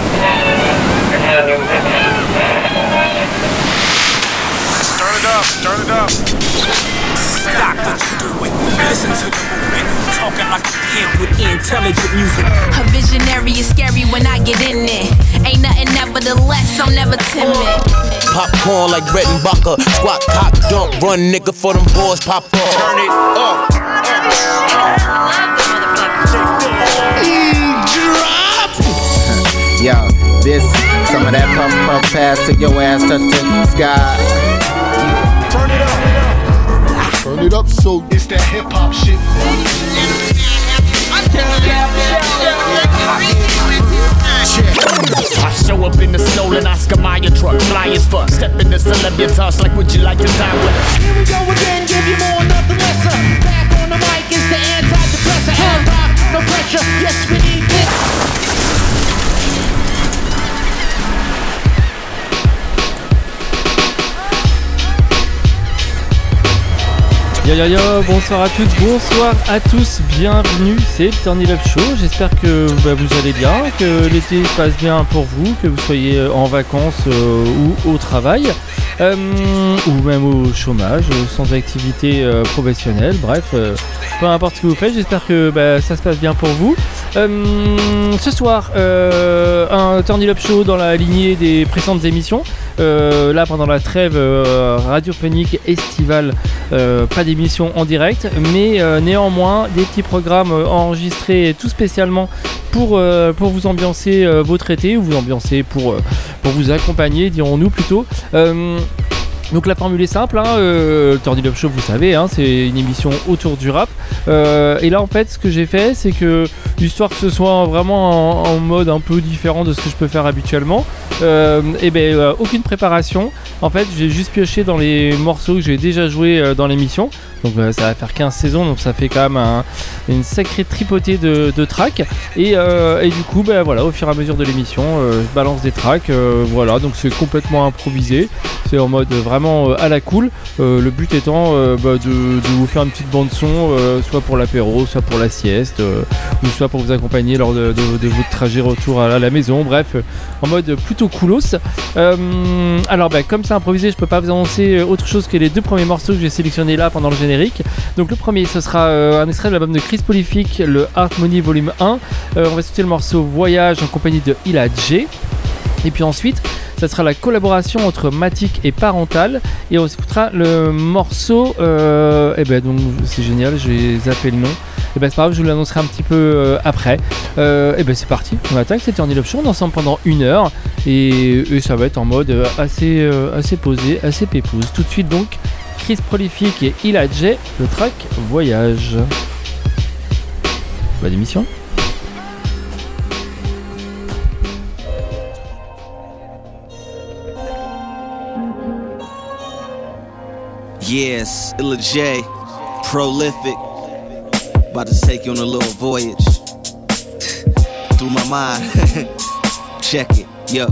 Turn it up. Stop what you doing. Listen to the movement. Talking like a kid with intelligent music. A visionary is scary when I get in it. Ain't nothing nevertheless, I'm never timid. Popcorn like bread and butter. Squat, cock, dump, run, nigga, for them boys pop up. Turn it up. Drop. Yo, this, some of that puff puff pass to your ass, touch the sky. Turn it up. Turn it up, so It's that hip hop shit. I show up in the stolen Oscar Mayer truck, fly as fuck. Step in the celebritas like, would you like to die with us? Here we go again, give you more, nothing lesser. Back on the mic is the antidepressant. Hand rock, no pressure, yes we need this. Yo, bonsoir à toutes, bonsoir à tous, bienvenue, c'est le Turn It Up Show. J'espère que vous allez bien, que l'été se passe bien pour vous, que vous soyez en vacances ou au travail, ou même au chômage, sans activité professionnelle, bref, peu importe ce que vous faites, j'espère que ça se passe bien pour vous. Ce soir, un Turn It Up Show dans la lignée des précédentes émissions. Là pendant la trêve radiophonique estivale, pas d'émission en direct, mais néanmoins des petits programmes enregistrés tout spécialement pour vous ambiancer votre été, ou vous ambiancer pour vous accompagner, dirons-nous plutôt. Donc la formule est simple, le Turn It Up Show, vous savez, c'est une émission autour du rap. Et là en fait ce que j'ai fait, c'est que, histoire que ce soit vraiment en mode un peu différent de ce que je peux faire habituellement, aucune préparation. En fait j'ai juste pioché dans les morceaux que j'ai déjà joués dans l'émission. Donc ça va faire 15 saisons, donc ça fait quand même une sacrée tripotée de tracks. Et du coup au fur et à mesure de l'émission, je balance des tracks, voilà, donc c'est complètement improvisé. C'est en mode vraiment à la cool. Le but étant de vous faire une petite bande son, soit pour l'apéro, soit pour la sieste, ou soit pour vous accompagner lors de votre trajet retour à la maison. Bref, en mode plutôt coolos. Alors comme c'est improvisé, je peux pas vous annoncer autre chose que les deux premiers morceaux que j'ai sélectionnés là pendant le générique. Donc le premier, ce sera un extrait de l'album de Chris Prolific, le Harmony Volume 1. On va écouter le morceau Voyage en compagnie de Illa J. Et puis ensuite, ça sera la collaboration entre Matic et Parental. Et on écoutera le morceau. Donc c'est génial, j'ai zappé le nom. Et c'est pas grave, je vous l'annoncerai un petit peu après. C'est parti, on attaque, c'est Turn It Up Show, on est ensemble pendant 1 heure. Et ça va être en mode assez posé, assez pépouze. Tout de suite donc, Chris Prolific et Illa J, le track Voyage. Bonne émission. Yes, Illa J, prolific. About to take you on a little voyage through my mind. Check it, yo.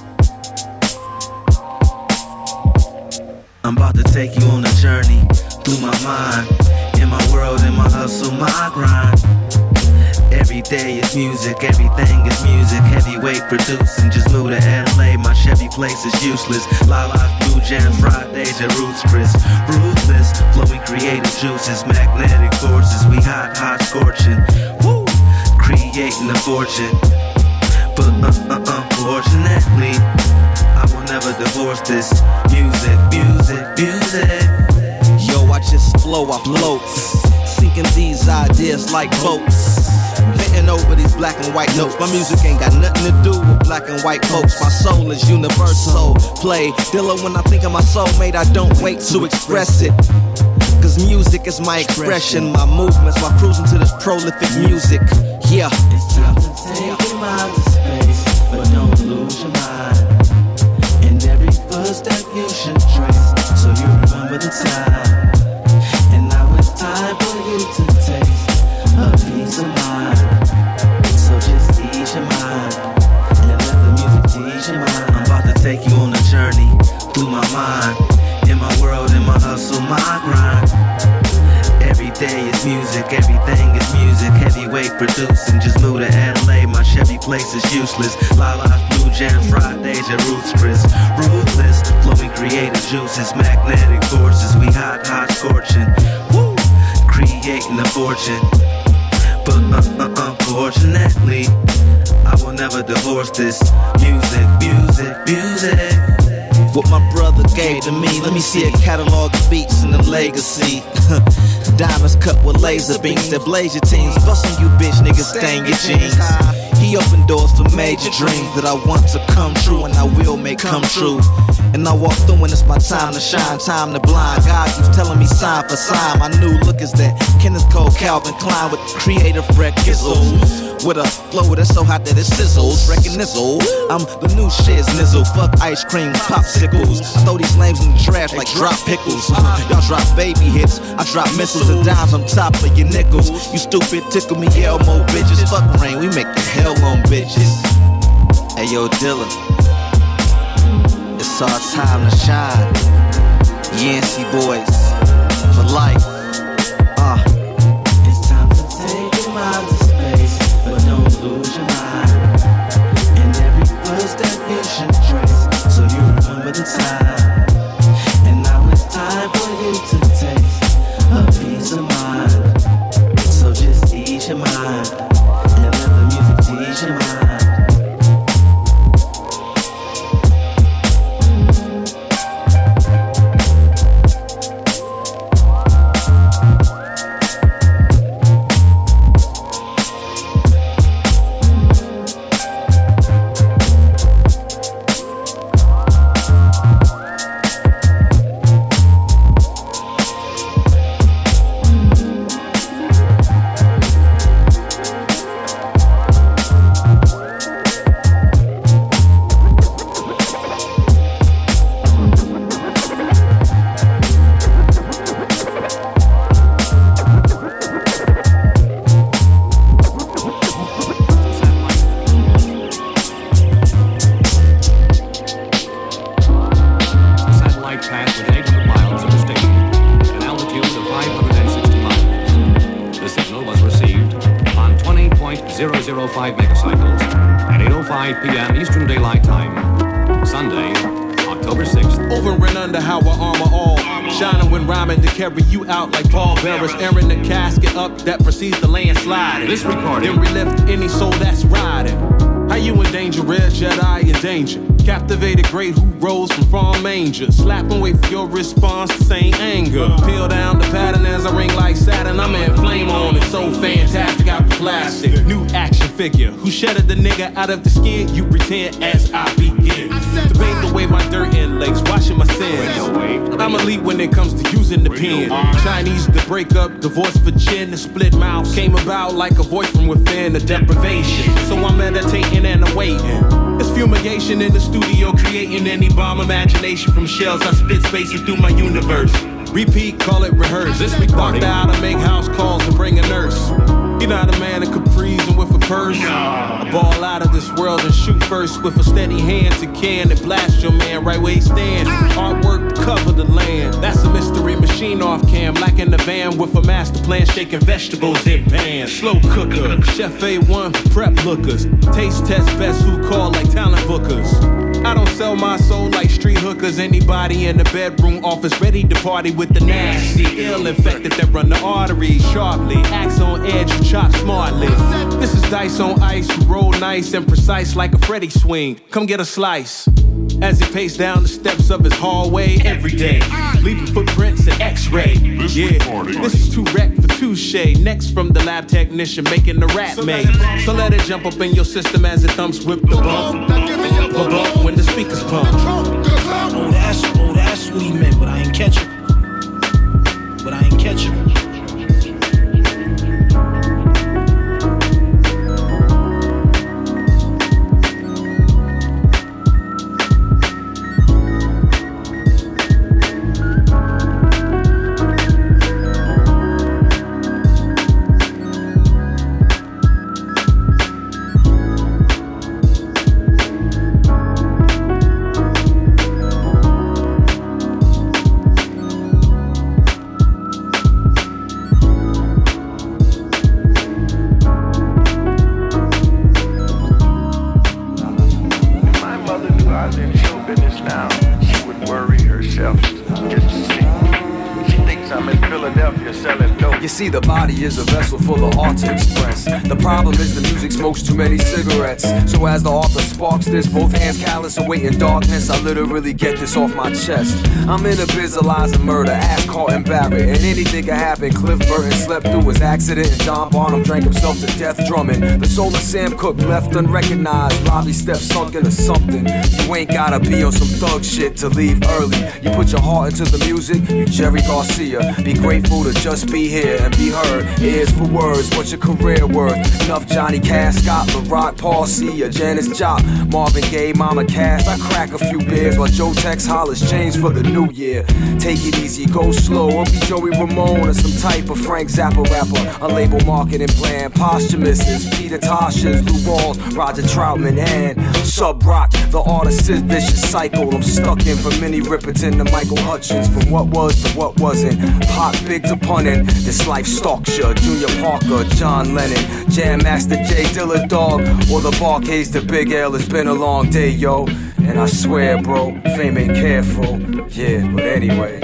I'm about to take you on a journey through my mind. In my world, in my hustle, my grind. Every day is music, everything is music. Heavyweight producing, just moved to LA. My Chevy place is useless. Lala's Blue Jam Fridays at Roots Chris. Ruthless, flowing creative juices. Magnetic forces, we hot, scorching. Woo! Creating a fortune. But unfortunately, I will never divorce this. Music. Yo, I just flow, I float. Sinking these ideas like boats. Hitting over these black and white notes. My music ain't got nothing to do with black and white folks. My soul is universal. Play Dilla when I think of my soulmate, I don't wait to express it. Cause music is my expression, my movements while cruising to this prolific music. Yeah. It's time to take your mind to space, but don't lose your mind. And every footstep you should trace, so you remember the time. And now it's time for you to taste a peace of mind. So just ease your mind and let the music tease your mind. I'm about to take you on a journey through my mind. In my world, in my hustle, my grind. Every day is music, everything is music. Heavyweight producing, just flew to LA, my Chevy place is useless. Lala's Blue Jam Fridays at Roots Chris. Ruthless, flowing creative juices, magnetic forces. We hot, scorching. Woo! Creating a fortune. But unfortunately, I will never divorce this music. What my brother gave to me, let me see a catalog of beats and the legacy. Diamonds cut with laser beams that blaze your teens. Bustin' you bitch niggas, stain your jeans. He opened doors for major dreams that I want to come true and I will make come true. And I walk through when it's my time to shine, time to blind. God keeps telling me sign for sign. My new look is that Kenneth Cole, Calvin Klein with creative reckizzles. With a flow that's so hot that it sizzles. Recognizzle, I'm the new shiz nizzle. Fuck ice cream, popsicles. I throw these lames in the trash like drop pickles. Y'all drop baby hits, I drop missiles and dimes on top of your nickels. You stupid, tickle me Elmo bitches. Fuck rain, we make the hell on bitches. Hey yo, Dylan, it's our time to shine. Yancey boys for life. It's time to take your mind to space, but don't lose your mind. And every footstep you should trace, so you remember the time. And now it's time for you to taste a peace of mind. So just ease your mind and let the music tease your mind. Airing the casket up that precedes the landslide. This recording then relift any soul that's riding. How you endanger rare Jedi in danger? Captivated great who rose from farm manger. Slap and wait for your response to same anger. Peel down the pattern as I ring like Saturn. I'm in flame on it, so fantastic out the plastic. New action figure who shedded the nigga out of the skin. You pretend as I begin to bathe away my dirt and legs, washing my sins. I'm elite when it comes to using the pen. Chinese to break up, divorce for chin, and split mouths came about like a voice from within, a deprivation. So I'm meditating and I'm waiting. It's fumigation in the studio, creating any bomb imagination from shells. I spit spaces through my universe. Repeat, call it rehearse. This recording out, I make house calls and bring a nurse. You're not a man of capris and with a purse. I ball out of this world and shoot first with a steady hand to can and blast your man right where he stands. Artwork to cover the land. That's a mystery machine off cam, like in the van with a master plan, shaking vegetables in pans. Slow cooker, Chef A1 prep lookers. Taste test best who call like talent bookers. I don't sell my soul like street hookers. Anybody in the bedroom office ready to party with the nasty ill infected that run the arteries sharply. Axe on edge, you chop smartly. This is dice on ice, you roll nice and precise like a Freddy swing. Come get a slice. As he paced down the steps of his hallway every day, leaving footprints and x-ray. Yeah, this is too wreck for touche. Next from the lab technician making the rap made. So let it jump up in your system as it thumps with the bump. Bump when the speakers pump. Oh, that's what he meant, but I ain't catch it. See, the body is a vessel for the art to express. The problem is the music smokes too many cigarettes. So as the author sparks this, both hands callous, awaiting darkness, I literally get this off my chest. I'm in a biz of lies and murder, ass caught and Barrett, and anything can happen. Cliff Burton slept through his accident, and John Barnum drank himself to death drumming. The soul of Sam Cooke left unrecognized. Lobby steps sunk into something. You ain't gotta be on some thug shit to leave early. You put your heart into the music, you Jerry Garcia. Be grateful to just be here and be heard. Ears for words, what's your career worth? Enough Johnny Cash, Scott LaRock, Paul C, or Janis Jopp, Marvin Gaye, Mama Cass. I crack a few beers while Joe Tex hollers change for the new year. Take it easy, go slow, or be Joey Ramone or some type of Frank Zappa rapper. A label marketing plan, Posthumous's, Peter Tosh's, Lou Walls, Roger Troutman, and Sub Rock. The artist is vicious cycle. I'm stuck in from Minnie Riperton to Michael Hutchins, from what was to what wasn't. Pop big to punnin', this life stalks ya. Junior Parker, John Lennon, Jam Master Jay Dilla Dog, or the Barcades to Big L. It's been a long day, yo. And I swear, bro, fame ain't careful. Yeah, but anyway.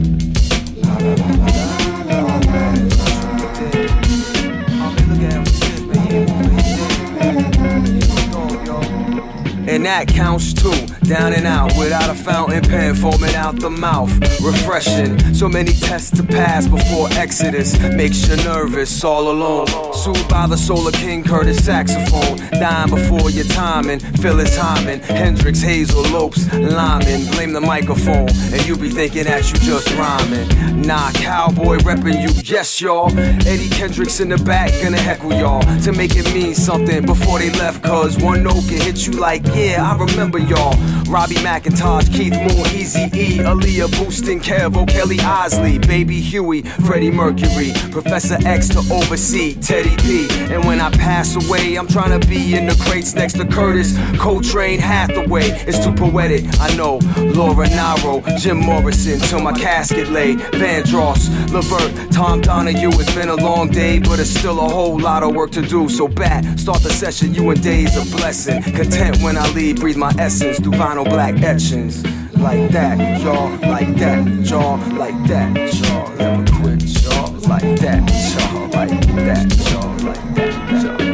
And that counts too, down and out, without a fountain pen foaming out the mouth. Refreshing, so many tests to pass before Exodus makes you nervous all alone. Soothed by the soul of King Curtis saxophone, dying before your timing. Phyllis Hyman, Hendrix, Hazel, Lopes, Lyman. Blame the microphone, and you be thinking that you just rhyming. Nah, cowboy reppin' you, yes y'all. Eddie Kendricks in the back, gonna heckle y'all to make it mean something before they left. Cause one note can hit you like, yeah, I remember y'all. Robbie McIntosh, Keith Moon, Eazy-E, Aaliyah, Boostin, Kevo, Kelly Osley, Baby Huey, Freddie Mercury, Professor X to oversee Teddy P. And when I pass away, I'm trying to be in the crates next to Curtis, Coltrane, Hathaway. It's too poetic, I know. Laura Nyro, Jim Morrison, till my casket lay. Vandross, Levert, Tom Donahue. It's been a long day, but it's still a whole lot of work to do. So bat, start the session, you and days a blessing. Content when I leave, breathe my essence through vinyl black etchings. Like that, y'all, like that, y'all, like that, y'all. Never quit, y'all, like that, y'all, like that, y'all, like that, y'all.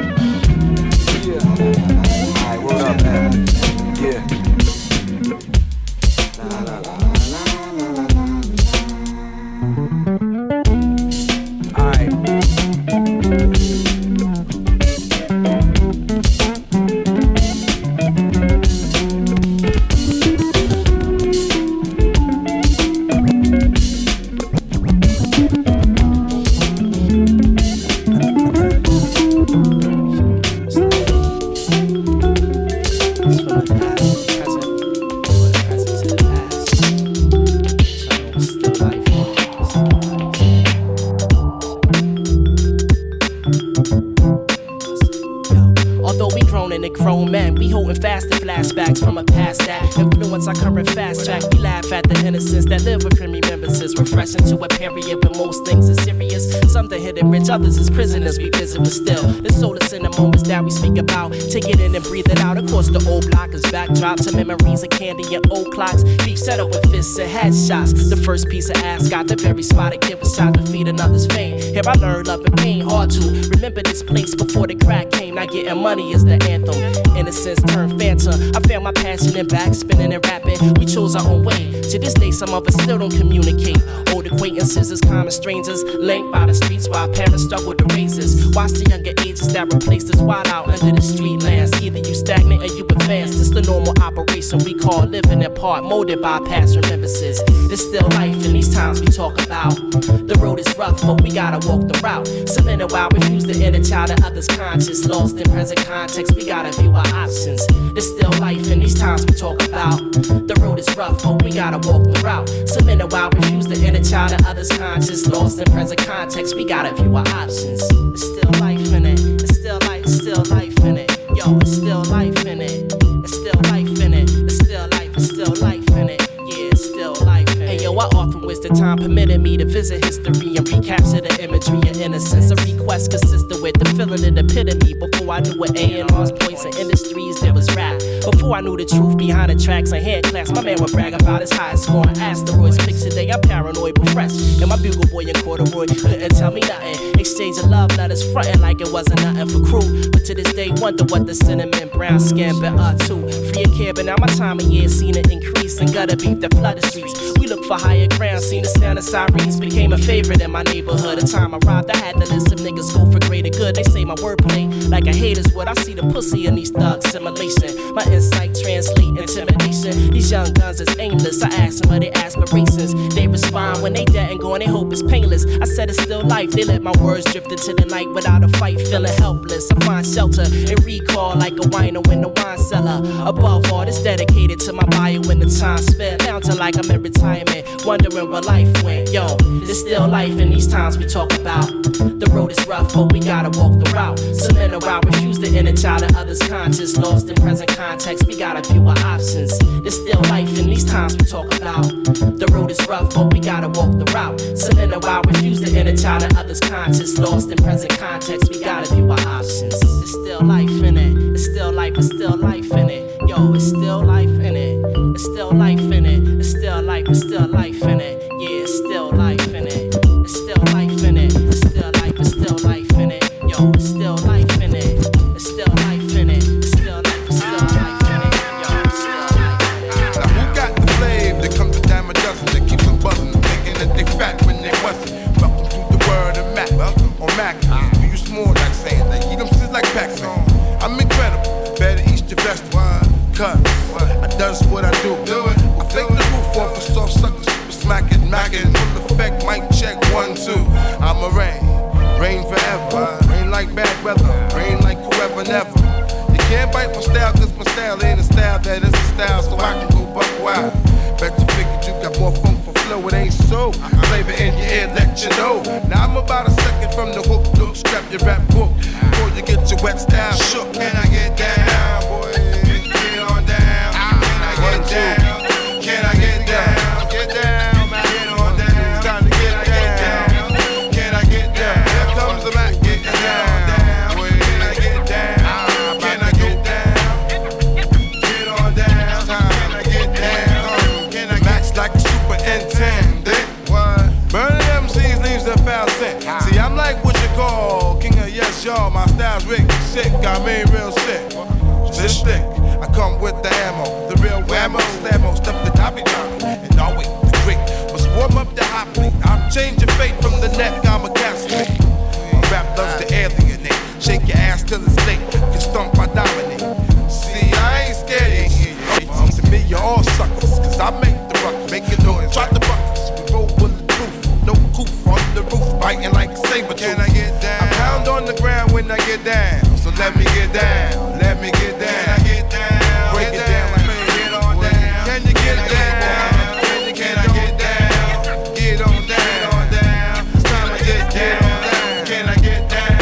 Yeah. Alright, what up, man? Yeah. La la la la la. Alright. Flashbacks from a past that influence our current fast track. We laugh at the innocence that live within remembrances. Refreshing to a period when most things are serious. Some the hidden rich, others as prisoners we visit, but still there's solace in the moments that we speak about. Take it in and breathe it out. Of course the old block is backdrop to memories of candy and old clocks. Beef settled with fists and headshots. The first piece of ass got the very spot a kid was shot to feed another's fame. Here I learned love and pain hard to remember this place before the crack came. Not getting money is the anthem. Innocence turned phantom. I found my passion in backspinning and rapping. We chose our own way. To this day, some of us still don't communicate. Old acquaintances as common strangers, linked by the streets while parents struggle to raise us. Watch the younger ages that replaced us wild out under the street lands. Either you stagnant or you advance. This the normal operation we call living apart, molded by past remembrances. There's still life in these times we talk about. The road is rough, but we gotta walk the route. Some in a while refuse the inner child of others' conscious. Lost in present context, we gotta view our options. There's still life in these times we talk about. The road is rough, but we gotta walk the route. Some in a while refuse the inner child of others' conscious. Lost in present context, we gotta view our options. There's still life in it. It's still life, it's still life in it. Yo, it's still life in it. It's still life in it. It's still life, it's still life in it. Yeah, it's still life in it. Hey yo, I often wish the time permitted me to visit history and recapture the imagery of innocence. A request consistent with the feeling and epitome. Before I knew what A&R's points and industries, there was rap. Before I knew the truth behind the tracks and head class, my man would brag about his high score on asteroids. Picture day, I'm paranoid but fresh. And my bugle boy in corduroy couldn't tell me nothing. Exchange of love letters, frontin' like it wasn't nothing for crew. But to this day, wonder what the cinnamon brown skin been up to. Free of care, but now my time of year seen it increase. And gutter beef that flood the streets. We look for higher ground, seen the sound of sirens. Became a favorite in my neighborhood. The time I arrived, I had to list some niggas go for greater good. They say my wordplay like a hater's would. I see the pussy in these thugs, simulation. My insight translate intimidation. These young guns is aimless. I ask them what their aspirations. They respond when they dead and gone, they hope it's painless. I said it's still life. They let my words drift into the night without a fight, feeling helpless. I find shelter and recall like a wino in the wine cellar. Above all, it's dedicated to my bio when the time spent. Down to like I'm in retirement, wondering where life went. Yo, there's still life in these times we talk about. The road is rough, but we gotta walk the route. Some men around refuse the inner child of others' conscious. Lost in present context, we gotta view our options. There's still life in these times we talk about. The road is rough, but we gotta walk the route. Some men around refuse the inner child of others' conscious. Lost in present context, we gotta view our options. There's still life in it. It's still life, it's still life in it. Yo, it's still life in it. It's still life in it. It's still life, it's still life in it. Yeah, it's still life in it. It's still life in it. It's still life, it's still life in it. Yo, it's still life in it. It's still life in it. It's still life, it's still life in it. Yo, it's still life in it. Now who got the flame that comes a dime a dozen that keeps them buzzing, thinking that they fat when they wasn't? Welcome to the world of Mac. On Mac, we use more like saying they eat them shit like Pac-Man. I'm incredible, better eat your vegetable. Cause I does what I do. I fake the roof off a soft sucker, super smack it, full effect, mic check 1, 2. I'm a rain forever, rain like bad weather, rain like whoever never. You can't bite my style, cause my style ain't a style that is a style, so I can go buck wild. Bet you figured you got more funk for flow, it ain't so. Flavor in your ear, let you know. Now I'm about a second from the hook, look, scrap your rap book before you get your wet style shook. Can I get down, boy? Get on down. Can I get down? Get down, man. Get on down. It's time to get down. Can I get down? Here comes the Mac. Get down. Can I get down? Can I get down? Get on down. Can I get down? Can I Max like a superintendent? What? Burning MCs leaves a foul scent. See, I'm like what you call king of yes, y'all. My style's wicked, sick. I mean real sick. This thick. I come with the ammo, the real whammo, slammo, stuff the toppy top, and always the great. Must warm up the hot plate. I'll change your fate from the neck, I'm a casket. My rap loves to alienate. Shake your ass till it's late. Can stomp, I dominate. See, I ain't scared of you. To me, you're all suckers, cause I make the ruckus. Making noise, drop the buckets. We roll bulletproof, no coof on the roof, biting like a saber tooth. Can I get down? I pound on the ground when I get down. So let me get down, let me get down. Can I get down? Break it down like me. Get on down. Can you get down? Can I get down? Get on down. It's time to get down. Can I get down?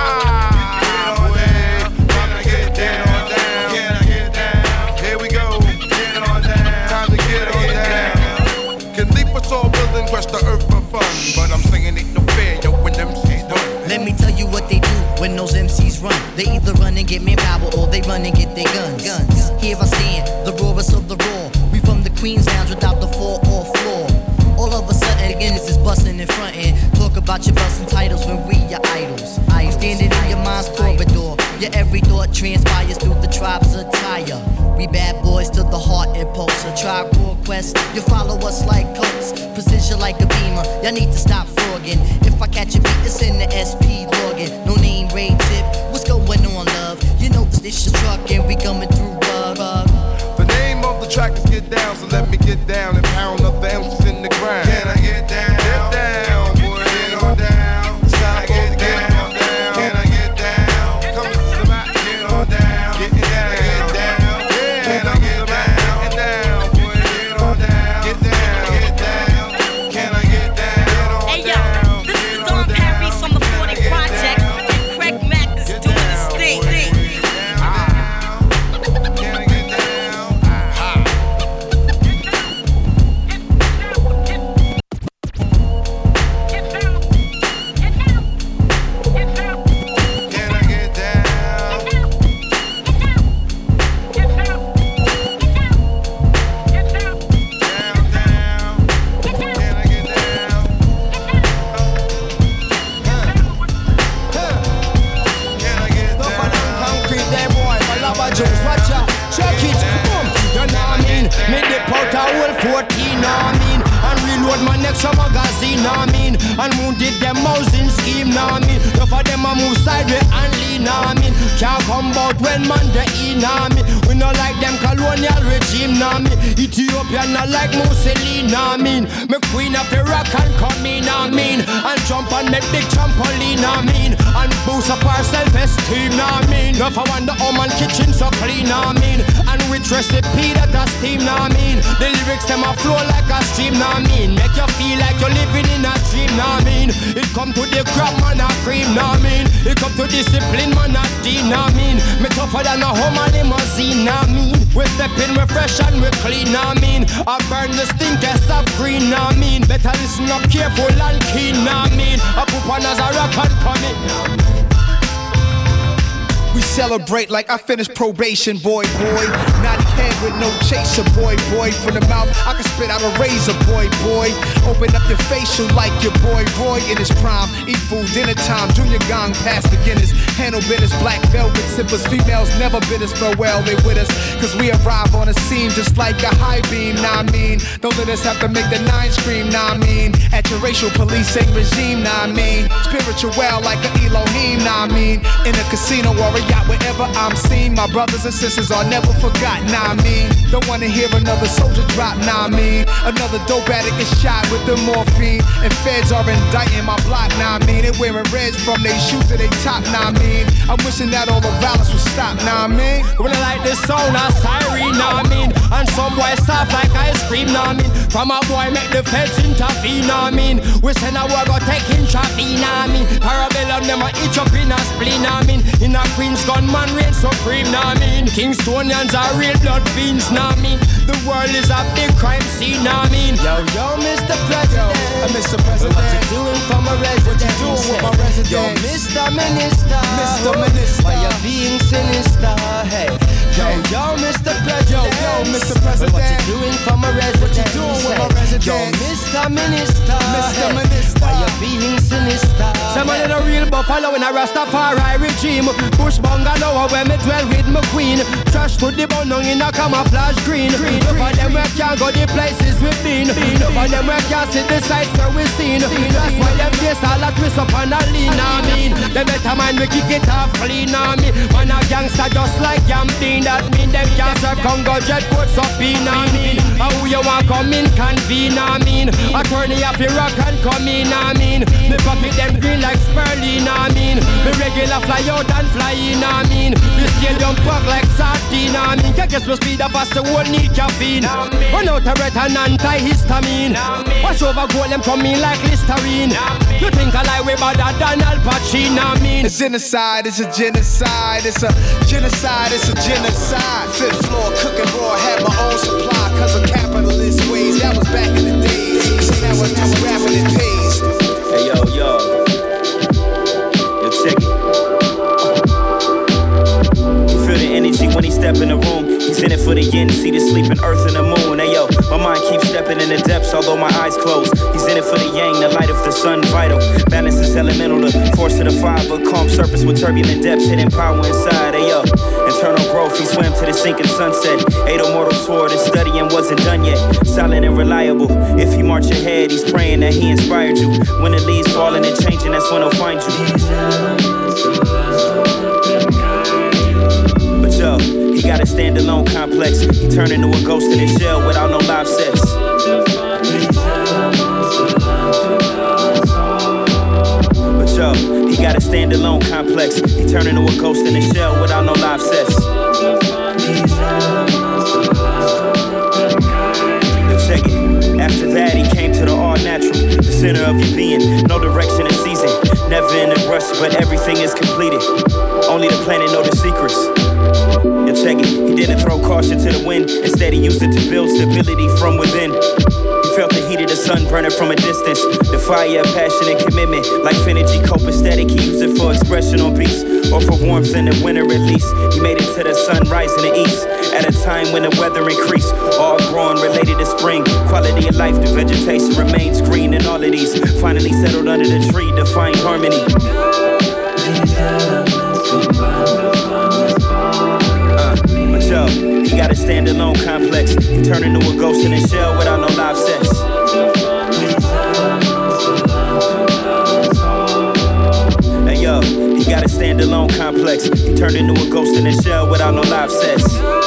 Get on down. Can I get down? Can I get down? Here we go. Get on down. Time to get on down. Can leap a tall building, crush the earth for fun, but I'm singing ain't no fair, yo, when them MCs done. Let me tell you what they do when those MCs run. They either run and get manpower or they run and get their guns. Here I stand, the rawest of the raw. We from the Queen's Lounge without the 4-off floor. All of a sudden again this is busting in front end. Talk about your busting titles when we your idols. Standing in your mind's corridor. Your every thought transpires through the tribe's attire. We bad boys to the heart impulse. A tribe core quest. You follow us like coats. Precision like a beamer. Y'all need to stop frogging. If I catch a beat, it's in the SP login. No name, raid tip. What's going on, love? You know this is truck and we coming through rug. The name of the track is Get Down, so let me get down and pound up the M's in the ground. Can I get down? Get down, boy. Get on down. It's time to get down. Can I get down? Come to the mat. Get on down. Get down. Get down. Can I get down? Get down, boy. Get on down. Get down. Get down. Can I get down? Hey yo, this is Don Perry from the 40 Project, and Craig Mack is doing his thing. Can I get down? 14, I mean. And reload my next magazine, I mean. And wounded them housing scheme, I mean. Enough of them a move sideways and lean, I mean. Can't come out when man they in, I mean. We not like them colonial regime, I mean. Ethiopia not like Mussolini, I mean. Me queen of Iraq and come in, I mean. And jump and make big trampoline, I mean. And boost up our self-esteem, I mean. Enough I wonder how man kitchen so clean, I mean. And with recipe that a steam, I mean. The lyrics them a flow like a stream, I mean. Make you feel like you're living in a dream, I mean. It come to the crap, man, a cream, I mean. It come to discipline, man, a dean, I mean. Me tougher than a Hummer limousine, I mean. We step in, we fresh and we clean, I mean. I burn the stinkers of green, I mean. Better listen up careful and keen, I mean. I put on as a rock and come in. We celebrate like I finished probation, boy. Naughty head with no chaser, boy. From the mouth, I can spit out a razor, boy. Open up your facial like your boy Roy in his prime. Eat food, dinner time, Junior Gong past the Guinness. Handle business, black velvet sippers. Females never bid us farewell, they with us. Cause we arrive on the scene just like a high beam, nah I mean. Don't let us have to make the nine scream, nah I mean. At your racial policing regime, nah I mean. Spiritual like an Elohim, nah I mean. In a casino or a yacht, wherever I'm seen, my brothers and sisters are never forgotten, nah I mean. Don't wanna hear another soldier drop, nah I mean. Another dope addict is shot with the morphine, and feds are indicting my block, nah I mean. They wearing reds from their shoes to their top, nah I mean. I'm wishing that all the violence would stop, nah I mean. When I like this sound, a siren, nah I mean. And some boy soft like ice cream, nah I mean. From a boy make the feds intervene, nah I mean. We send a war go take in traffic, nah I mean. Parabellum them a itch up in a spleen, nah I mean. In a Queen's gunman reign supreme, nah I mean. Kingstonians are real blood fiends, nah I mean. The world is a big crime scene, nah I mean. Yo, Mr. President, Mr. President, what you doing for my resident? What you doing with my resident? Yo, Mr. Minister, why you being sinister? Hey, yo, Mr. President, yo, Mr. President, what you doing for my resident? What you doing with my resident? Yo, Mr. Minister, why you being sinister? Somebody the real buffalo in a Rastafari regime. Bush bungalow where me dwell with my queen. Trash to the bone in a camouflage green. None of them where can't go the places we've been. None of them where can't see the sights where we've seen. That's why them face all that twist up and a lean, I mean. Them better mind we kick it off clean, I mean. Man a gangster just like Yamdeen. That mean them can't serve Congo jet coats up in, I mean. How you want come in convene, I mean. Attorney of Iraq and come in, I mean. Me pocket them green like Sperling, I mean. Me regular fly out and fly in, I mean. The stadium park like sardine, I mean. Can't get no speed of us, the whole need caffeine. Run out a red and anti-histamine. Wash over gold, them come in like Listerine. You think I lie way better than Al Pacino, I mean. A genocide, it's a genocide. It's a genocide, it's a genocide. Fifth floor, cooking raw, had my own supply. Cause of capitalist ways, that was back in the days. So now I do rapping it pays. Hey yo, check it. You feel the energy when he step in the room. He's in it for the yin, see the sleeping earth and the moon. Hey yo, my mind keeps stepping in the depths, although my eyes close. He's in it for the yang, the light of the sun vital. Balance is elemental, the force of the fiber. Calm surface with turbulent depths, hidden power inside. Hey yo, internal growth, he swam to the sinking sunset. Ate a mortal sword, his studying wasn't done yet. Silent and reliable, if he march ahead, he's praying that he inspired you. When the leaves falling and changing, that's when he'll find you. But yo, he got a standalone complex. He turned into a ghost in his shell without no live sex. But yo, he got a standalone complex. He turned into a ghost in his shell without no live sex. Check it. After that, he came to the all natural, the center of your being. No direction and season, never in a rush, but everything is completed. Only the planet know the secrets. And check it, he didn't throw caution to the wind. Instead, he used it to build stability from within. He felt the heat of the sun burning from a distance. The fire of passion and commitment. Like Finergy copacetic, he used it for expression on beats, or for warmth in the winter at least. He made it to the sunrise in the east, at a time when the weather increased. All growing related to spring. Quality of life, the vegetation remains green. And all of these finally settled under the tree to find harmony. But yo, he got a standalone complex. He He turned into a ghost in a shell without no live sex. Hey yo, he got a standalone complex. He turned into a ghost in a shell without no live sex.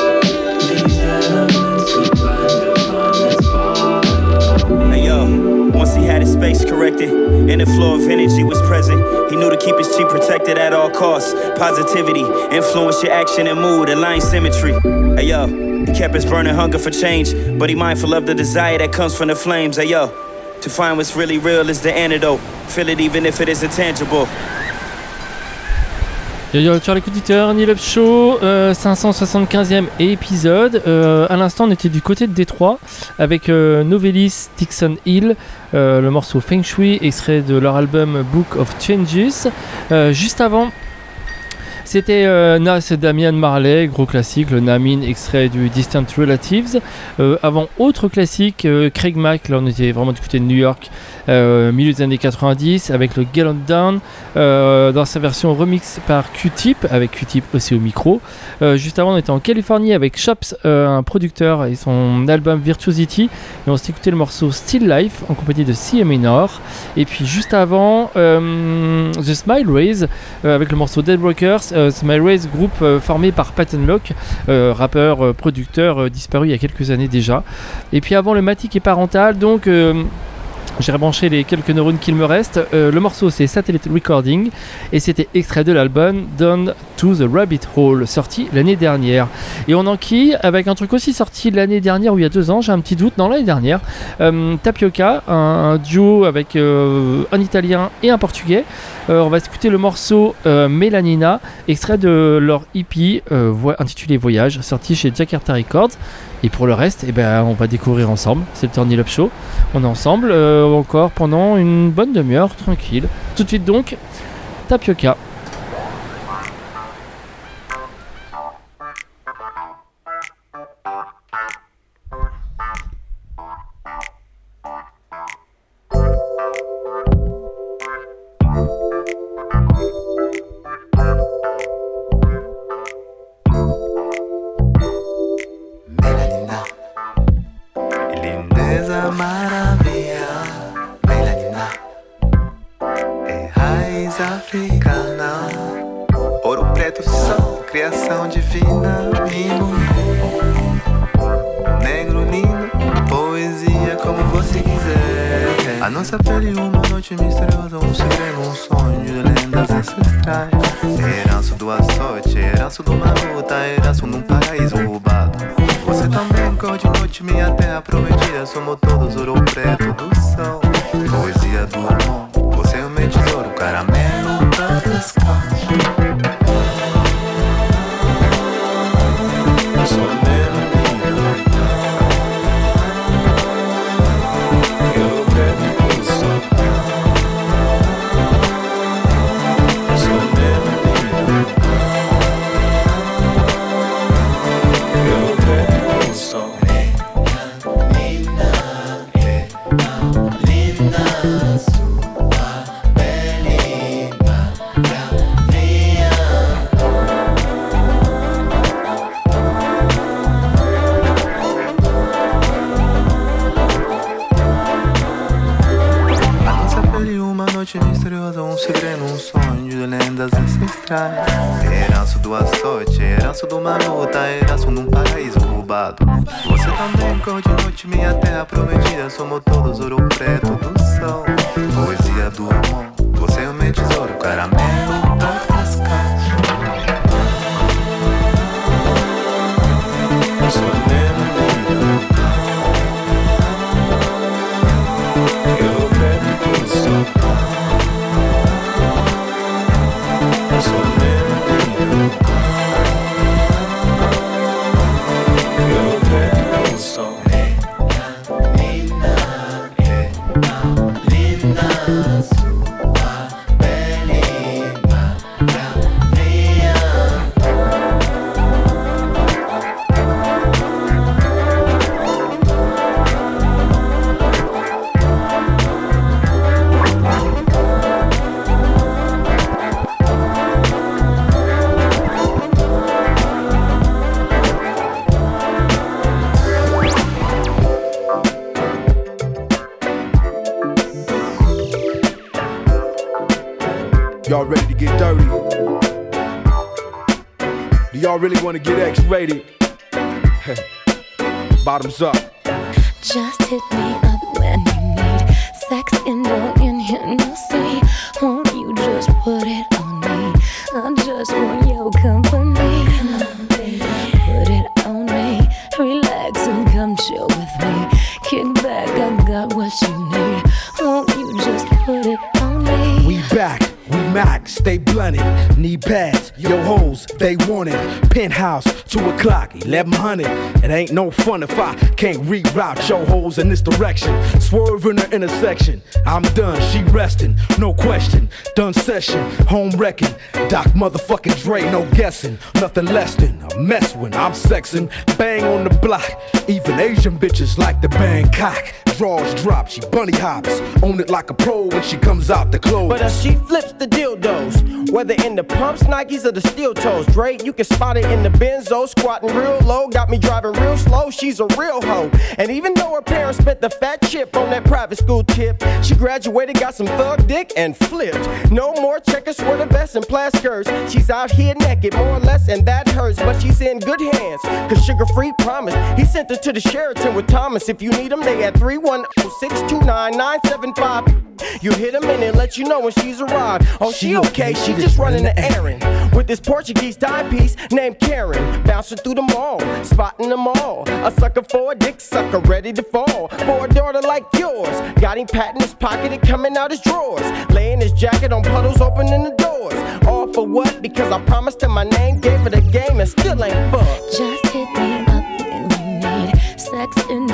Hey yo, once he had his space corrected and the flow of energy was present, he knew to keep his chi protected at all costs. Positivity, influence your action and mood, align symmetry. Hey yo, he kept his burning hunger for change, but he mindful of the desire that comes from the flames. Hey yo, to find what's really real is the antidote. Feel it even if it isn't tangible. Yo, sur l'écoute d'auditeur, Neil Up Show, 575e épisode. À l'instant, on était du côté de Détroit avec Novelis Dixon Hill, le morceau Feng Shui, extrait de leur album Book of Changes. Juste avant, c'était Nas et Damian Marley, gros classique, le Namin, extrait du Distant Relatives. Avant, autre classique, Craig Mack, là on était vraiment du côté de New York, milieu des années 90, avec le Get On Down, dans sa version remix par Q-Tip, avec Q-Tip aussi au micro. Juste avant, on était en Californie avec Chops, un producteur, et son album Virtuosity, et on s'est écouté le morceau Still Life en compagnie de C.A. Minor. Et puis juste avant, The Smile Rays, avec le morceau Dead Brokers. Smile Rays, groupe formé par Patton Locke, rappeur, producteur disparu il y a quelques années déjà. Et puis avant le Matic et Parental, donc j'ai rebranché les quelques neurones qu'il me reste. Le morceau c'est Satellite Recording et c'était extrait de l'album Down to the Rabbit Hole, sorti l'année dernière. Et on enquille avec un truc aussi sorti l'année dernière ou il y a 2 ans, j'ai un petit doute, non l'année dernière, Tapioca, un duo avec un italien et un portugais. On va écouter le morceau Melanina, extrait de leur EP intitulé Voyage, sorti chez Jakarta Records. Et pour le reste, on va découvrir ensemble. C'est le Turn It Up Show. On est ensemble encore pendant une bonne demi-heure, tranquille. Tout de suite donc, Tapioca. Criação divina, mimo, negro lindo, poesia como você quiser. A nossa pele uma noite misteriosa, um segredo, um sonho de lendas ancestrais. Herança do açoite, herança de uma luta, herança num paraíso roubado. Você também cor de noite, minha terra prometida, somos todos ouro preto do sol. Poesia do amor, você é o meu tesouro, caramelo das cores. Misteriosa, um segredo, um sonho de lendas ancestrais. Herança do açoite, herança de uma luta, herança num paraíso roubado. Você também cor de noite, minha terra prometida, somos todos ouro preto do sol. Poesia do amor, você é o meu tesouro, caramelo das caixas. Eu sou linda, sua pele y'all really want to get X-rated? Bottoms up. Just hit me up when you need sex in Hennessy. Won't you just put it on me? I just want your company. Come on, baby. Put it on me. Relax and come chill with me. Kick back, I got what you need. Won't you just put it on me? We back. We max, stay blunted, knee pads, yo hoes, they want it. Penthouse, 2 o'clock, 1100. It ain't no fun if I can't reroute yo hoes in this direction. Swerve in the intersection, I'm done, she resting, no question. Done session, home wrecking. Doc motherfucking Dre, no guessing. Nothing less than a mess when I'm sexing. Bang on the block, even Asian bitches like to bang cock. Draws drop, she bunny hops, own it like a pro when she comes out the clothes. But she flips the dildos, whether in the pumps, Nikes, or the steel toes. Dre, you can spot it in the Benzo, squatting real low, got me driving real slow. She's a real hoe, and even though her parents spent the fat chip on that private school tip, she graduated, got some thug dick, and flipped. No more checkers, sweater vests, and plaid skirts. She's out here naked, more or less, and that hurts, but she's in good hands, cause Sugar Free promised. He sent her to the Sheraton with Thomas. If you need him, they at 310-629-975. You hit a minute, let you know when she's arrived. Oh, she okay, she just running the errand with this Portuguese timepiece named Karen. Bouncing through the mall, spotting them all. A sucker for a dick sucker, ready to fall. For a daughter like yours, got him patting his pocket and coming out his drawers. Laying his jacket on puddles, opening the doors. All for what? Because I promised him my name, gave her the game, and still ain't fucked. Just hit me up when you need sex in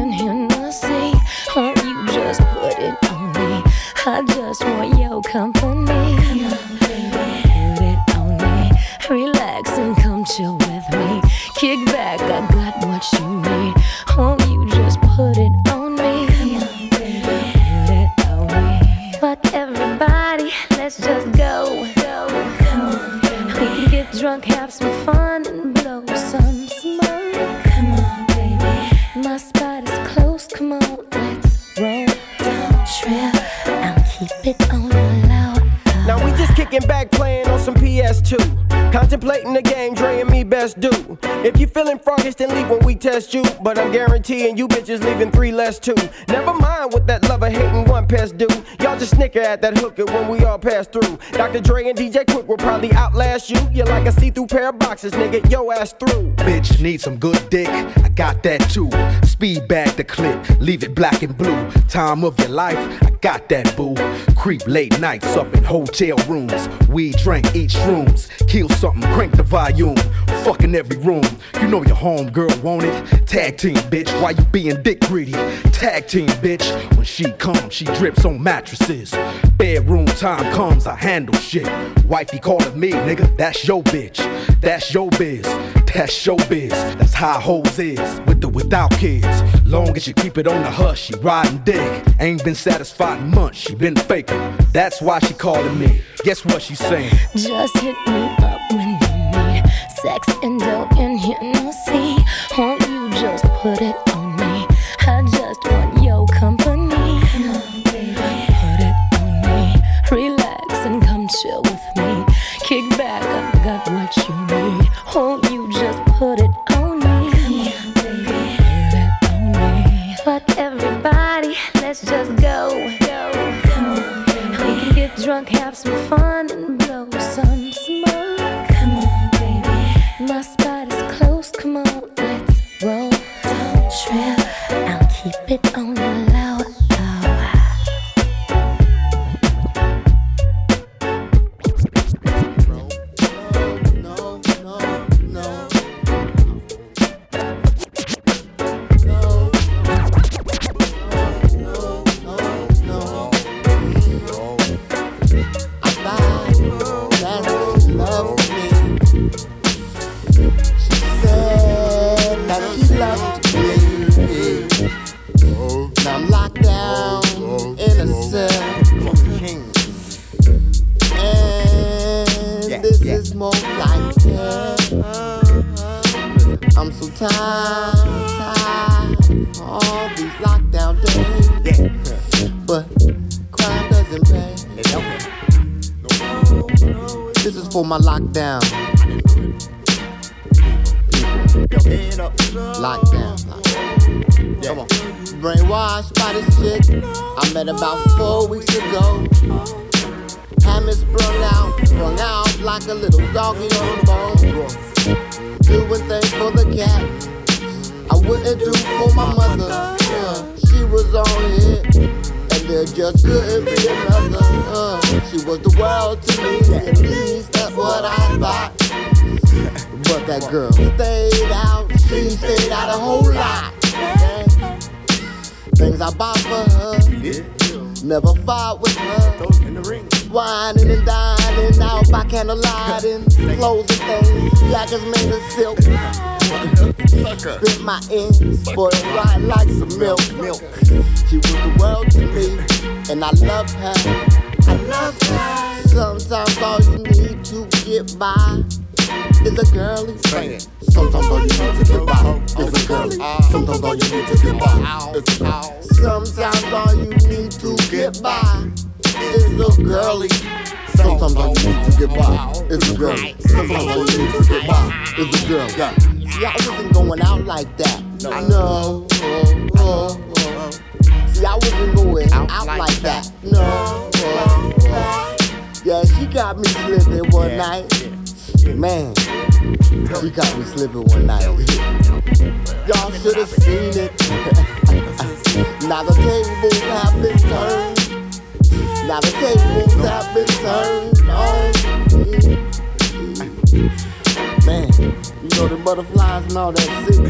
Hennessy. Won't you just put it on me? I just want your company. Come on, baby. Put it on me. Relax and come chill with me. Kick back, I got what you need. Won't you just put it on me? Come on, baby. Put it on me. Fuck everybody, let's just go. Come on, baby. We can get drunk, have some fun, and blow some smoke. Come on, baby. My spot is close, come on, let's roll. Don't trip, I'll keep it on the low. Now we just kicking back, playing on some PS2. Contemplating the game, Dre and me best do. If you feeling froggish, then leave when we test you. But I'm guaranteeing you bitches leaving 3 less too. Never mind what that lover hating one pest do. Y'all just snicker at that hooker when we all pass through. Dr. Dre and DJ Quick will probably outlast you. You're like a see-through pair of boxes, nigga, yo ass through. Bitch need some good dick, I got that too. Speed bag the clip, leave it black and blue. Time of your life, I got that boo. Creep late nights up in hotel rooms. We drink, eat shrooms, kill something, crank the volume. Fucking every room, you know your homegirl want it. Tag team, bitch, why you being dick greedy? Tag team, bitch, when she comes, she drips on mattresses. Bedroom time comes, I handle shit. Wifey calling me, nigga, that's your bitch. That's your biz, that's showbiz. That's how hoes is, with or without kids. Long as you keep it on the hush, she riding dick. Ain't been satisfied in months, she been faking. That's why she calling me. Guess what she's saying? Just hit me up when you need sex in Hennessy. Won't you just put it on me? I just want your company. Come on, baby. Put it on me. Relax and come chill with me. Kick back, I got what you need. Won't you just put it on me? Come on, baby. Put it on me. Fuck everybody, let's just go. Come on, baby. We can get drunk, have some fun, and blow some smoke. Come on, baby. My spot is close, come on, let's roll. Don't trip, I'll keep it on the low. I'm so tired, all these lockdown days. But crime doesn't pay. This is for my lockdown. Lockdown. Yeah. Come on. Brainwashed by this chick I met about 4 weeks ago. Had me sprung out like a little doggy on a bone. Doing things for the cat I wouldn't do for my mother. She was on it, and there just couldn't be another. She was the world to me, at least that's what I thought. But that girl stayed out, she stayed out a whole lot. Things I bought for her, never fought with her. Whining and dining out by candlelight and clothes and things, jackets made of silk. Spit my ends, spoiled right like some milk. She was the world to me, and I loved her. Sometimes all you need to get by is a girlie. Sometimes all you need to get by is a girlie. Sometimes all you need to get by is a girlie. Sometimes all you need to get by is a girlie. Sometimes all you need to get by is a girlie. Sometimes all you need to get by is a girl. See, I wasn't going out like that. No. See, I wasn't going out like that. No. Yeah, she got me slipping one night. Man, she got me slipping one night. Y'all should have seen it. Now the tables have been turned. Now the tables have been turned on me. Man, you know the butterflies and all that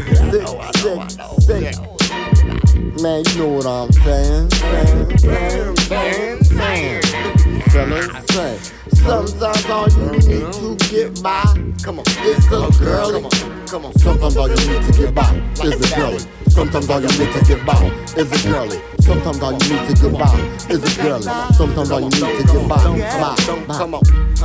sick. Man, you know what I'm saying. Fellas, sometimes all you need to get by is a girlie. Sometimes all you need to get by is a girlie. Sometimes all you need to get by is a girlie. Sometimes all you need to get by is a girlie. Sometimes all you need to get by. Come on.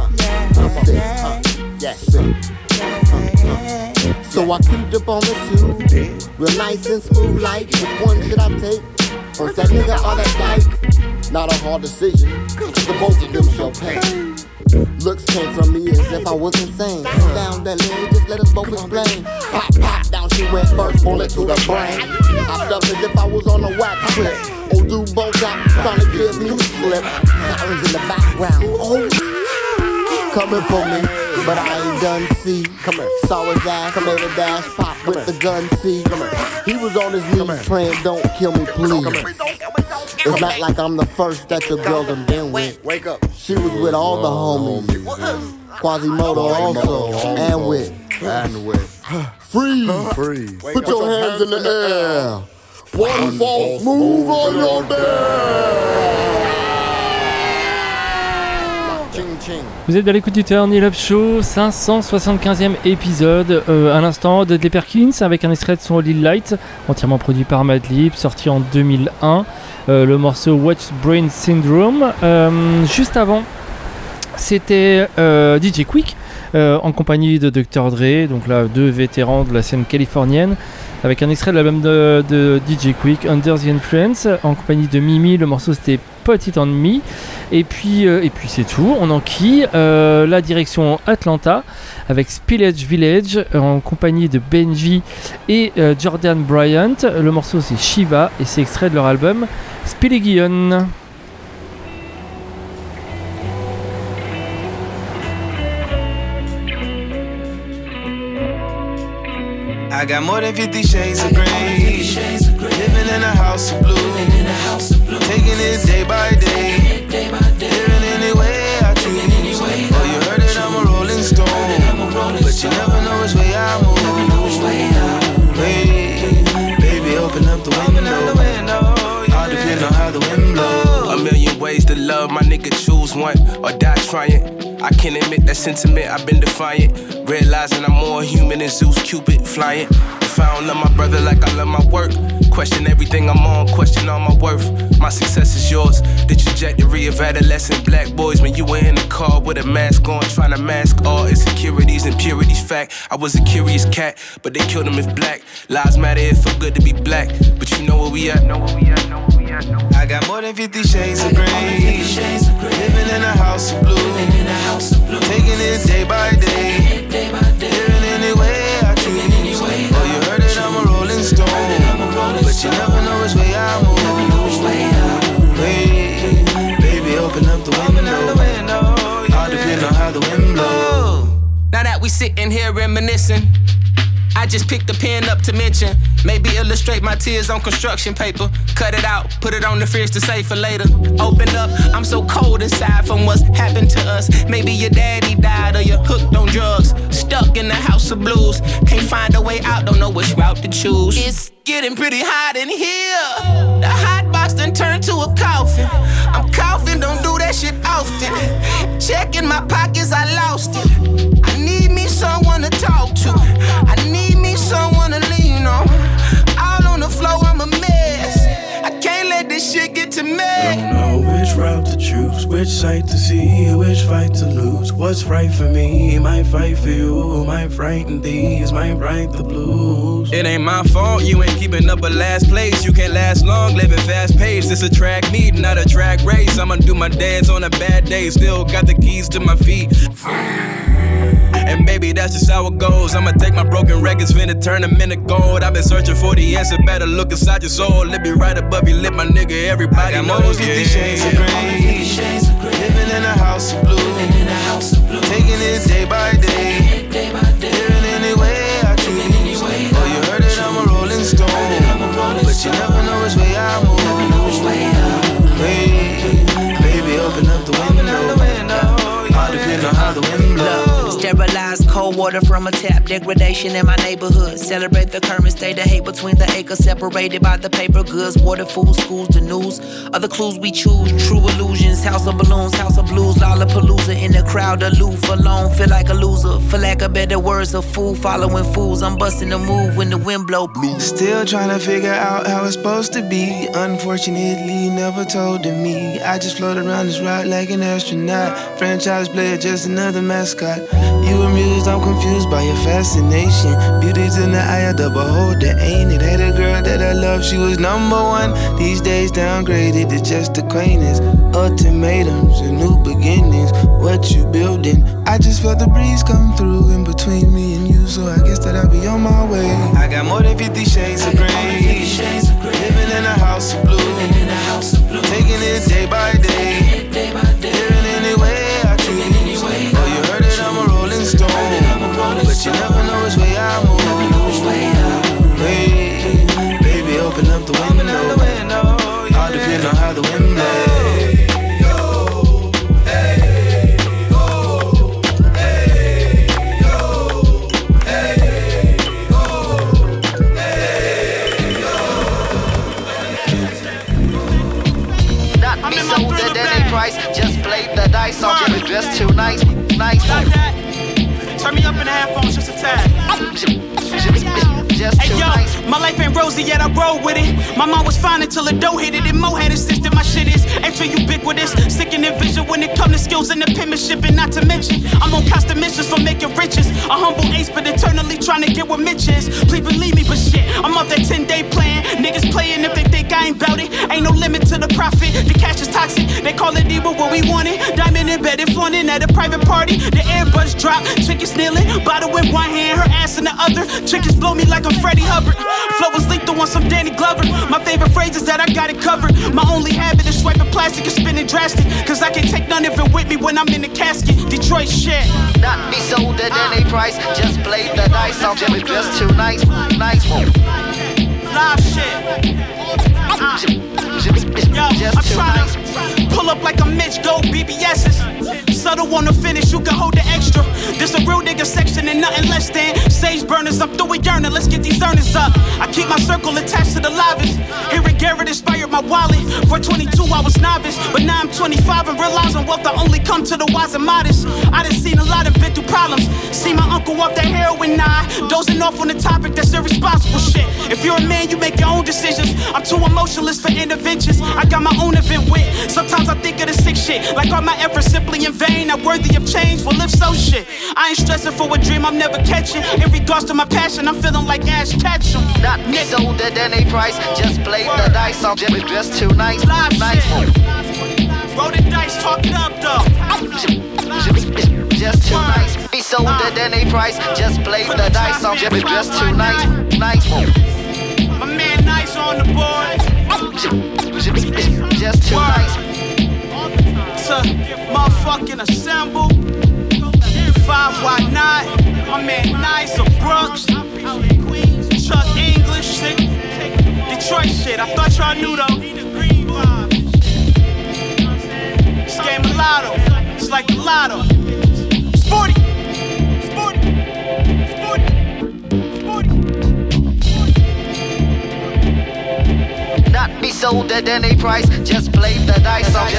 So I creeped up on the tube, real nice and smooth like, which one should I take? First that nigga or that dyke? Not a hard decision, cause the both of them shall pay. Looks came from me as if I was insane. Down that lane, just let us both explain. Pop, down she went first, bullet to the brain. I felt as if I was on a wax clip. Old dude both out, trying to give me a slip. Sirens in the background, coming for me, but I ain't done see. Saw his ass, made a dash, pop with the gun, see. He was on his knees praying, don't kill me, please. It's not like I'm the first that your girl done been with. Wake up. She was with all the homies. Quasimodo also, and with. Freeze. Put your hands in the air. One false move on your dare. Vous êtes à l'écoute du Turn It Up Show, 575e épisode. À l'instant, Dudley Perkins avec un extrait de son Lil Light, entièrement produit par Madlib, sorti en 2001. Le morceau Watch Brain Syndrome. Juste avant, c'était DJ Quick en compagnie de Dr. Dre, donc là, deux vétérans de la scène californienne, avec un extrait de l'album de DJ Quick, Under the Influence, en compagnie de Mimi. Le morceau c'était Put It On Me. Et puis c'est tout. On enquille la direction Atlanta avec Spillage Village en compagnie de Benji et Jordan Bryant. Le morceau c'est Shiva et c'est extrait de leur album Spilligion. I got more than 50 shades of grey. Living in a house of blue. Taking it day by day. Living any way I choose. Oh, you heard it, I'm a rolling stone. But you never know which way I move. Hey, baby, open up the window. All depend on how the wind blows. A million ways to love, my nigga, choose one or die trying. I can't admit that sentiment, I've been defiant. Realizing I'm more human than Zeus, Cupid, flying. If I don't love my brother like I love my work, question everything I'm on, question all my worth. My success is yours, the trajectory of adolescent black boys. When you were in the car with a mask on, trying to mask all insecurities and purities. Fact, I was a curious cat, but they killed him if black. Lives matter, it feel good to be black. But you know where we at, I got more than 50 shades of grey. Living in a house of blue. Taking it day by day. Living any way I choose. Oh, sitting here reminiscing. I just picked the pen up to mention. Maybe illustrate my tears on construction paper. Cut it out, put it on the fridge to save for later. Open up, I'm so cold inside from what's happened to us. Maybe your daddy died or you're hooked on drugs. Stuck in the house of blues. Can't find a way out, don't know which route to choose. It's getting pretty hot in here. The hot box done turned to a coffin. I'm coughing, don't do that shit often. Checking my pockets, I lost it. I need me someone to talk to. I need me someone to lean on. Out on the floor, I'm a mess. I can't let this shit get to me. Don't know which route to choose, which side to see, which fight to lose. What's right for me, might fight for you. Might frighten these, might write the blues. It ain't my fault, you ain't keeping up a last place. You can't last long, living fast paced. It's a track meet, not a track race. I'ma do my dance on a bad day. Still got the keys to my feet. And baby, that's just how it goes. I'ma take my broken records, finna turn them into gold. I've been searching for the answer, better look inside your soul. It be right above your lip, my nigga, everybody I got knows. more than 50 shades of grey. Living in a house of blue. Taking it day by day. Living any way I choose. Oh, you heard it, I'm a rolling stone. But you never know which way I move. Hey, baby, open up the window. All depends on how the wind blows. Sterilized cold water from a tap. Degradation in my neighborhood. Celebrate the current state of hate between the acres. Separated by the paper goods. Water, food, schools, the news. Other clues we choose. True illusions. House of balloons, house of blues. Lollapalooza in the crowd. Aloof, alone. Feel like a loser. For lack of better words, a fool following fools. I'm busting a move when the wind blow blue. Still trying to figure out how it's supposed to be. Unfortunately, never told to me. I just float around this route like an astronaut. Franchise player, just another mascot. You amused, I'm confused by your fascination. Beauty's in the eye of the beholder, ain't it? Had a girl that I love, she was number one. These days downgraded to just acquaintance. Ultimatums and new beginnings. What you building? I just felt the breeze come through in between me and you, so I guess that I'll be on my way. I got more than 50 shades of grey. Living in a house of blue. Taking it day by day. Living any way I choose. Oh, you heard it, I'm a rolling stone. But you never know which way I move. Hey, baby, open up the window. All depends on how the wind blows. Just played the dice, I'll get it dressed too nice. Turn me up in the headphones just a tad. Hey yo, my life ain't rosy yet, I roll with it. My mom was fine until the dough hit it. And Mo had insisted my shit is extra ubiquitous. Sickening vision when it comes to skills and the penmanship. And not to mention, I'm on constant missions for making riches. A humble ace, but eternally trying to get what Mitch is. Please believe me, but shit, I'm off that 10-day plan. Niggas playing if they think I ain't bout it. Ain't no limit to the profit. The cash is toxic, they call it evil what we want it. Diamond embedded, flaunting at a private party. The earbuds drop, chick is kneeling. Bottle in one hand, her ass in the other. Chickens blow me like I'm Freddie Hubbard. Flow was lethal on some Danny Glover. My favorite phrase is that I got it covered. My only habit is swiping plastic and spinning drastic. Cause I can't take none of it with me when I'm in the casket. Detroit shit. Not be sold at any price. Just played the dice, I'll get it dressed too nice. Live shit. Yo, I'm trying to pull up like a Mitch, go BBS's. Subtle on the finish, you can hold the extra. This a real nigga section and nothing less than sage burners. I'm through with yearning, let's get these earnings up. I keep my circle attached to the livest. Hearing Garrett inspired my wallet. For 22 I was novice, but now I'm 25 and realizing wealth I only come to the wise and modest. I done seen a lot and been through problems. See my uncle off that heroin dozing off on the topic, that's irresponsible shit. If you're a man, you make your own decisions. I'm too emotionless for interventions. I got my own event with. Sometimes I think of the sick shit, like all my efforts simply in vain. Not worthy of change, well if so shit. I ain't stressing for a dream I'm never catching. In regards to my passion, I'm feeling like Ash Ketchum. Not be sold at any price. Just play the dice, I'll get it dressed too nice. Live shit. Roll the dice, talk it up though. Just too nice. Be sold at any price. Just play the dice, I'll get it dressed too nice. My man Nice on the board. Just too nice. To motherfucking assemble. 5 why not? My man Nice or Brooks, Chuck English, Detroit shit. I thought y'all knew though. This game of lotto, it's like the lotto. Sporty. Not be sold at any price, just play the dice on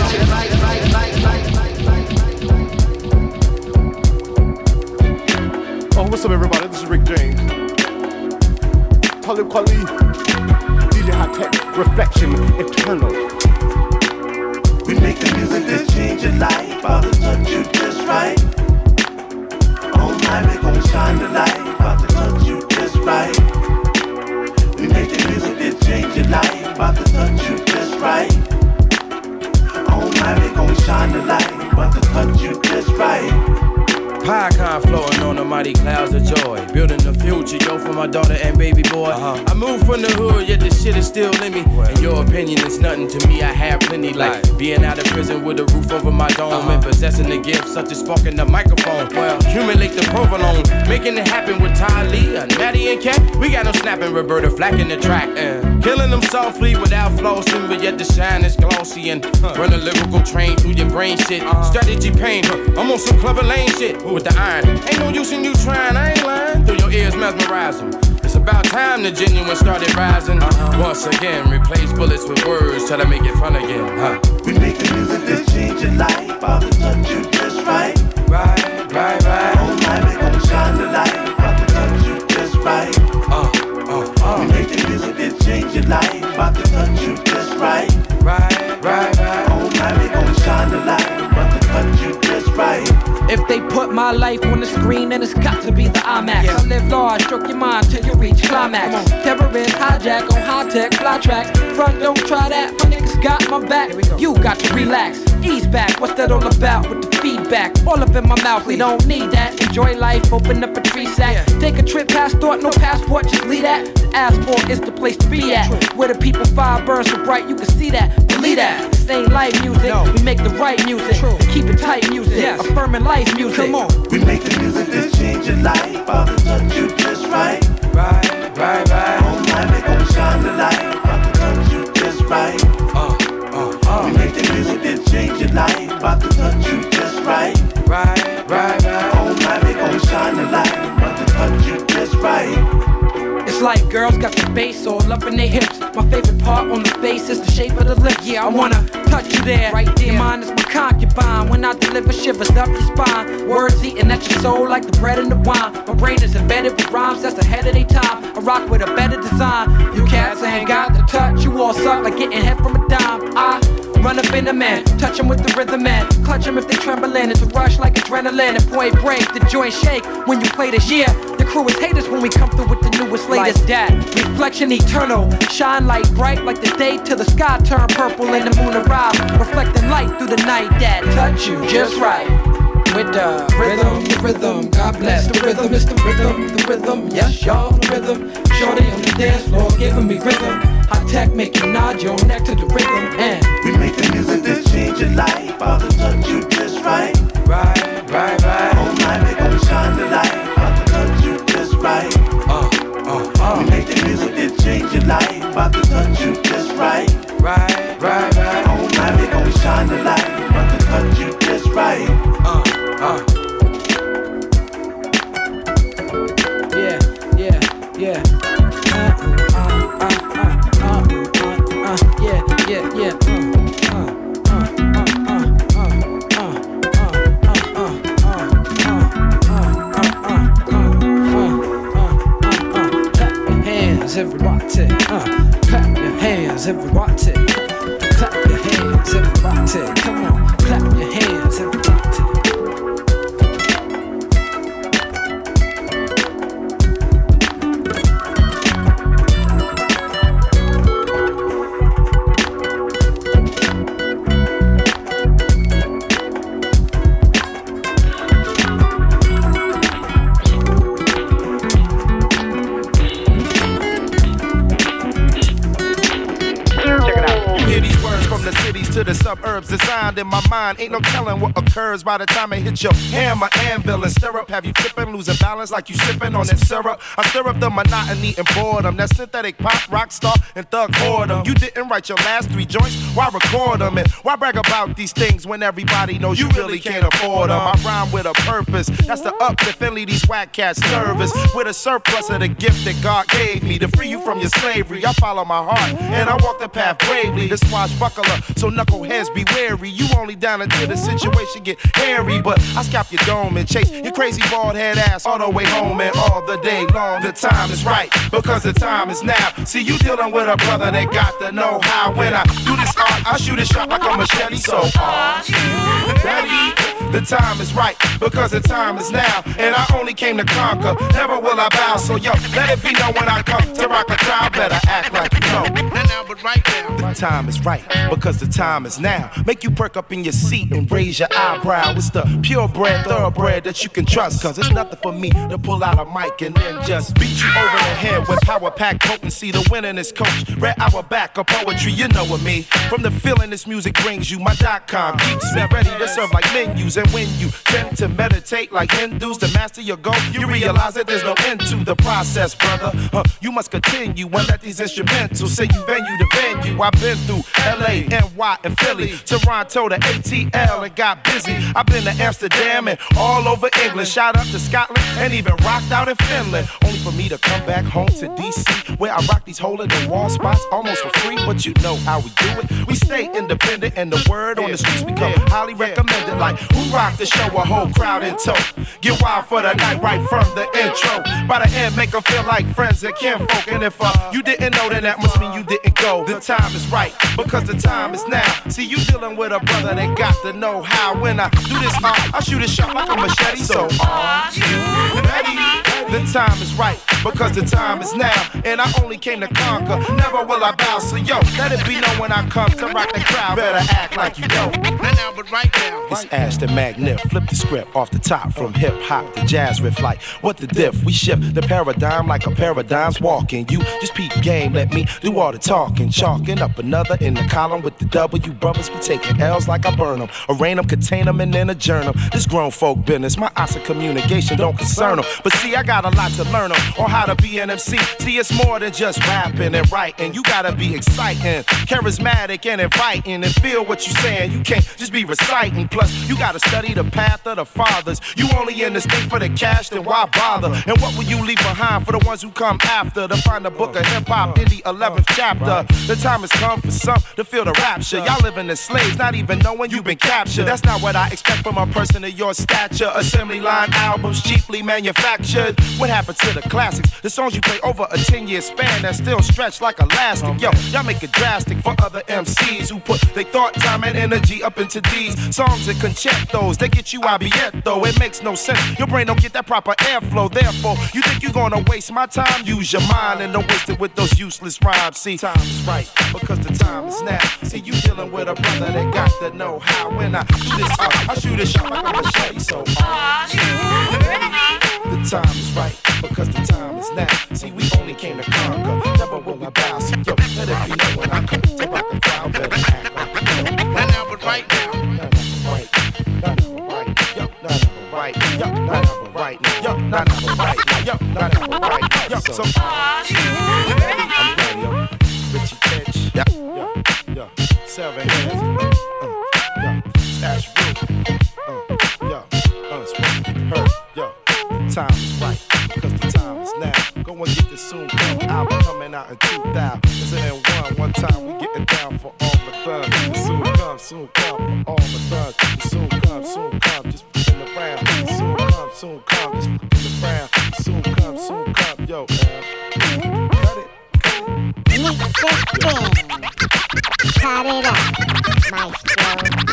Oh, what's up, everybody? This is Rick James. Talib Kweli, DJ High Tech, Reflection, Eternal. We make the music that change your life, about to touch you just right. Oh my, we gon' shine the light, about to touch you just right. We make the music that change your life, about to touch you just right. Oh my, we gon' shine the light, about to touch you just right. Pie floating on the mighty clouds of joy. Building the future, yo, for my daughter and baby boy. I moved from the hood, yet the shit is still in me. And your opinion is nothing to me, I have plenty. Like being out of prison with a roof over my dome. And possessing the gift, such as sparking the microphone. Well, accumulate the provolone. Making it happen with Ty Lee and Maddie and Cat. We got them snapping Roberta Flack in the track. Killing them softly without flossing, but yet the shine is glossy. And run a lyrical train through your brain shit. Strategy pain, I'm on some clever lane shit. With the iron, ain't no use in you trying, I ain't lying. Through your ears mesmerize them. It's about time the genuine started rising. Once again, replace bullets with words, try to make it fun again, We make the music that change your life, about to touch you just right. Right. Oh my, we gon' shine the light, about to touch you just right. We make the music that change your life, about to touch you just right. Right. Oh my, we gon' shine the light, about to touch you just right. If they put my life on the screen, then it's got to be the IMAX. I live large, stroke your mind till you reach climax. Terrorist hijack on high-tech fly tracks. Front, don't try that, my niggas got my back. You got to relax, ease back. What's that all about with the feedback? All up in my mouth, we don't need that. Enjoy life, open up a tree sack. Take a trip past thought, no passport, just leave that. The asphalt is the place to be at. Where the people fire burn so bright, you can see that. Believe that, this ain't light music. We make the right music, keep it tight music. Affirming life music. Come on. We make the music that change your life, about to touch you just right. Right. Oh my, we gon' shine the light, about to touch you just right. We make the music that change your life, about to touch you just right. Right. Oh my, we gon' shine the light, about to touch you just right. It's like girls got the bass all up in their hips. My favorite part on the face is the shape of the lips. Yeah, I wanna touch you there, right there. Your mind is my concubine. When I deliver shivers up your spine. Words eating at your soul like the bread and the wine. My brain is embedded with rhymes that's ahead of their time. I rock with a better design. You cats ain't got the touch. You all suck like getting hit from a dime. I run up in the man, touch them with the rhythm and clutch them if they trembling. It's a rush like adrenaline and point break. The joint shake when you play this year. The crew is haters when we come through with the newest latest that. Reflection eternal, shine light bright like the day till the sky turn purple and the moon arrive. Reflecting light through the night that touch you just right. With the rhythm, God bless the rhythm, it's the rhythm, yes y'all, the rhythm. Shorty on the dance floor giving me rhythm. High tech make you nod your neck to the rhythm and we make the music that change your life, about to touch you just right. Right. Oh my, we gon' shine the light, about to touch you just right. We make the music that change your life, about to touch you just right. Right. Oh my, we gon' shine the light, about to touch you just right. Yeah. Everybody, clap your hands, everybody. Clap your hands, everybody. Come on, clap your hands, everybody. To the suburbs designed in my mind. Ain't no telling what occurs by the time it hits your hammer, anvil, and stirrup. Have you tripping, losing balance like you sipping on that syrup? I stir up the monotony and boredom. That synthetic pop, rock star, and thug boredom. You didn't write your last 3 joints, why record them? And why brag about these things when everybody knows you really can't afford them? I rhyme with a purpose, that's to uplift and leave these whack cats nervous. With a surplus of the gift that God gave me to free you from your slavery. I follow my heart and I walk the path bravely. The swashbuckler, so knuckleheads be wary. You only down until the situation get hairy. But I scalp your dome and chase your crazy bald head ass all the way home and all the day long. The time is right because the time is now. See, you dealing with a brother that got the know-how. When I do this art, I shoot a shot like a machete. So are you ready? The time is right because the time is now. And I only came to conquer, never will I bow. So yo, let it be known when I come to rock a crowd. Better act like you know. Now, but right now, the time is right because the time is now. Make you perk up in your seat and raise your eyebrow. It's the purebred, thoroughbred that you can trust. Cause it's nothing for me to pull out a mic and then just beat you over the head with power-packed potency. The winningest coach, Red Auerbach of poetry, you know what me. From the feeling this music brings you, my .com keeps me ready to serve like menus. And when you tend to meditate like Hindus to master your goal, you realize that there's no end to the process, brother. You must continue and let these instrumentals say you venue to venue. I've been through LA, NY, and Philly, Toronto to ATL and got busy. I've been to Amsterdam and all over England, shot up to Scotland and even rocked out in Finland. Only for me to come back home to DC, where I rock these hole-in-the-wall spots almost for free. But you know how we do it. We stay independent and the word on the streets become highly recommended. Like who rock the show, a whole crowd in tow. Get wild for the night right from the intro. By the end, make them feel like friends and kinfolk. And if you didn't know, then that must mean you didn't go. The time is right because the time is now. See, you dealing with a brother that got the know-how. When I do this, I shoot a shot like a machete. So are you ready? The time is right because the time is now. And I only came to conquer, never will I bow. So yo, let it be known when I come to rock the crowd. Better act like you know. Now, but right now, it's Ashton Magnif. Flip the script off the top from hip-hop to jazz riff. Like what the diff? We shift the paradigm like a paradigm's walking. You just peep game, let me do all the talking. Chalking up another in the column with the W. Brothers be taking L's like I burn them. Arraign them, contain them, and then adjourn them. This grown folk business, my eyes of communication don't concern them. But see, I got a lot to learn them on how to be an MC. See, it's more than just rapping and writing. You gotta be exciting, charismatic, and inviting, and feel what you're saying. You can't just be reciting. Plus, you gotta study the path of the fathers. You only in this thing for the cash, then why bother? And what will you leave behind for the ones who come after? To find a book of hip-hop in the 11th chapter. The time has come for some to feel the rapture. Y'all living as slaves, not even knowing you've been captured. That's not what I expect from a person of your stature. Assembly line albums cheaply manufactured. What happened to the classics? The songs you play over a 10-year span that still stretch like elastic. Yo, y'all make it drastic for other MCs who put their thought, time, and energy up into these songs and concertos. They get you though. It makes no sense. Your brain don't get that proper airflow. Therefore, you think you're gonna waste my time? Use your mind and don't waste it with those useless rhymes. See, time is right because the time is now. See, you dealing with a brother that got the know-how. When I do this, I shoot a shot like a machete. So are you ready? The time is right because the time is now. See, we only came to conquer, never will we bow. So yo, let it be known when I come to rock the crowd. Better act like you know. Now, but right now, right, yo, right, yo, right, yo, right, yo, right, yo. So are you ready? I'm ready, yo. Richie Pitch, yo, 7 hands, Stash Root, yo, unspoken hurt, yo. The time is right because the time is now. Go and get this soon come album coming out in 2000. It's in one time we getting down for all the thugs. The soon come for all the thugs. The soon come, just in the round. The soon come, just in the round. The soon come, yo, man. Cut it. Mr. Spin, cut it up, maestro.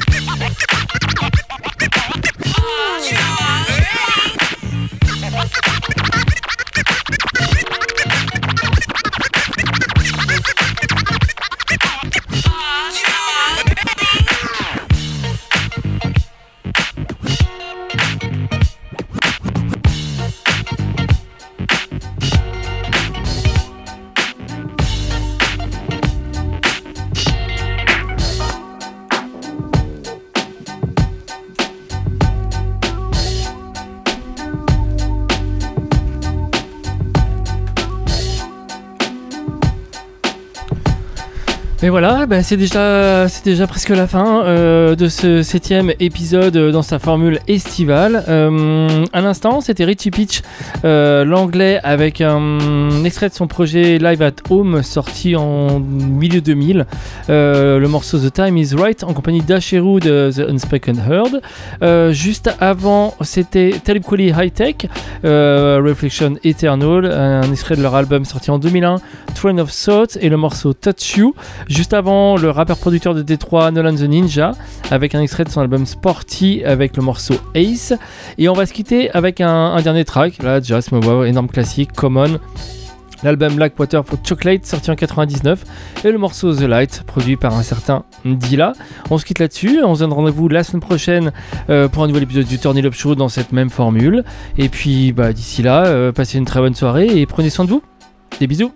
Et voilà, bah c'est déjà presque la fin de ce 7e épisode dans sa formule estivale. À l'instant, c'était Richie Peach, l'anglais, avec un extrait de son projet Live at Home sorti en milieu 2000. Le morceau The Time Is Right en compagnie d'Asheru de The Unspoken Herd. Juste avant, c'était Talib Kweli High Tech, Reflection Eternal, un extrait de leur album sorti en 2001, Train of Thought, et le morceau Touch You. Juste avant, le rappeur-producteur de Détroit Nolan the Ninja avec un extrait de son album Sporty avec le morceau Ace. Et on va se quitter avec un dernier track, là déjà ce wow, énorme classique, Common, l'album Blackwater for Chocolate sorti en 99 et le morceau The Light produit par un certain Dilla. On se quitte là-dessus, on se donne rendez-vous la semaine prochaine pour un nouvel épisode du Turn It Up Show dans cette même formule. Et puis d'ici là, passez une très bonne soirée et prenez soin de vous. Des bisous.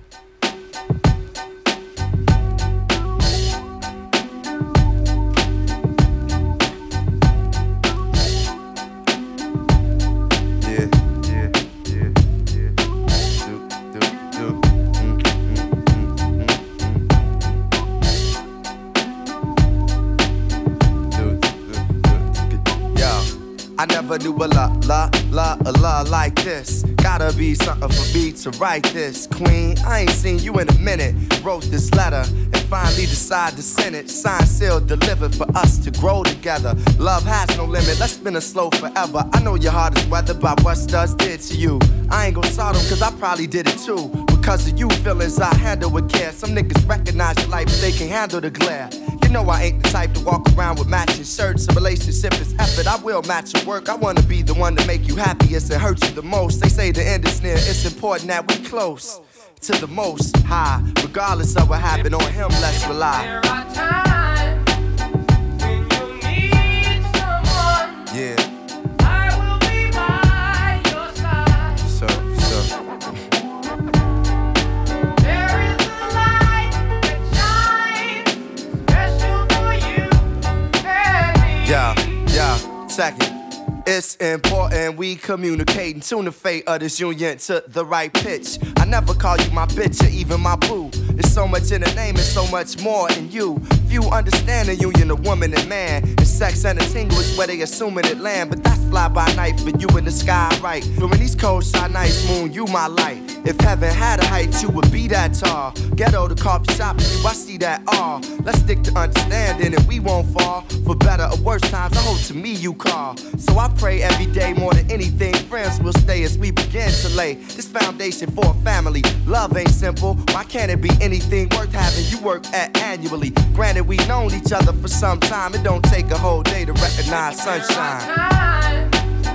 I never knew a la like this. Gotta be something for me to write this. Queen, I ain't seen you in a minute. Wrote this letter and finally decided to send it. Signed, sealed, delivered for us to grow together. Love has no limit, let's spin it slow forever. I know your heart is weathered by what Studs did to you. I ain't gon' sort 'em cause I probably did it too. Because of you feelings I handle with care. Some niggas recognize your life but they can't handle the glare. You know I ain't the type to walk around with matching shirts. A relationship is effort, I will match your work. I wanna be the one to make you happiest and hurt you the most. They say the end is near, it's important that we close to the most high. Regardless of what happened on him, let's rely. There are times when you need someone. Yeah. I will be by your side. So. There is a light that shines special for you and me. Yeah, second. It's important we communicate and tune the fate of this union to the right pitch. I never call you my bitch or even my boo. There's so much in the name and so much more in you. Few understand the union of woman and man. And sex and a tingle is where they assuming it land. But that's fly by night for you in the sky, right? During these cold side nights, moon, you my light. If heaven had a height, you would be that tall. Ghetto to coffee shop, you, I see that all. Let's stick to understanding and we won't fall. For better or worse times, I hope to me you call. So I pray every day more than anything friends will stay as we begin to lay this foundation for a family. Love ain't simple, why can't it be anything worth having you work at annually? Granted we known each other for some time, it don't take a whole day to recognize sunshine.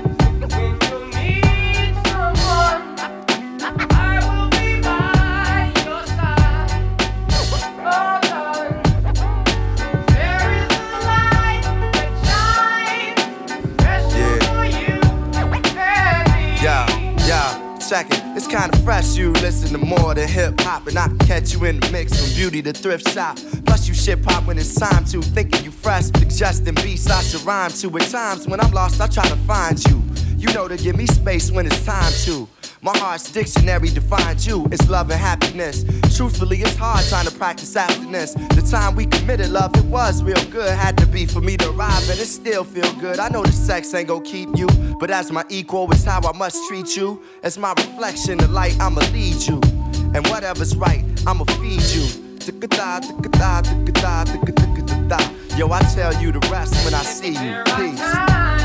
Second, it's kinda fresh, you listen to more than hip-hop. And I can catch you in the mix from beauty to thrift shop. Plus you shit pop when it's time to, thinking you fresh. Suggesting beats I should rhyme to. At times when I'm lost I try to find you. You know to give me space when it's time to. My heart's dictionary defines you, it's love and happiness. Truthfully, it's hard trying to practice abstinence. The time we committed love, it was real good. Had to be for me to arrive, and it still feel good. I know the sex ain't gon' keep you, but as my equal, it's how I must treat you. As my reflection, the light, I'ma lead you. And whatever's right, I'ma feed you. Yo, I tell you the rest when I see you. Peace.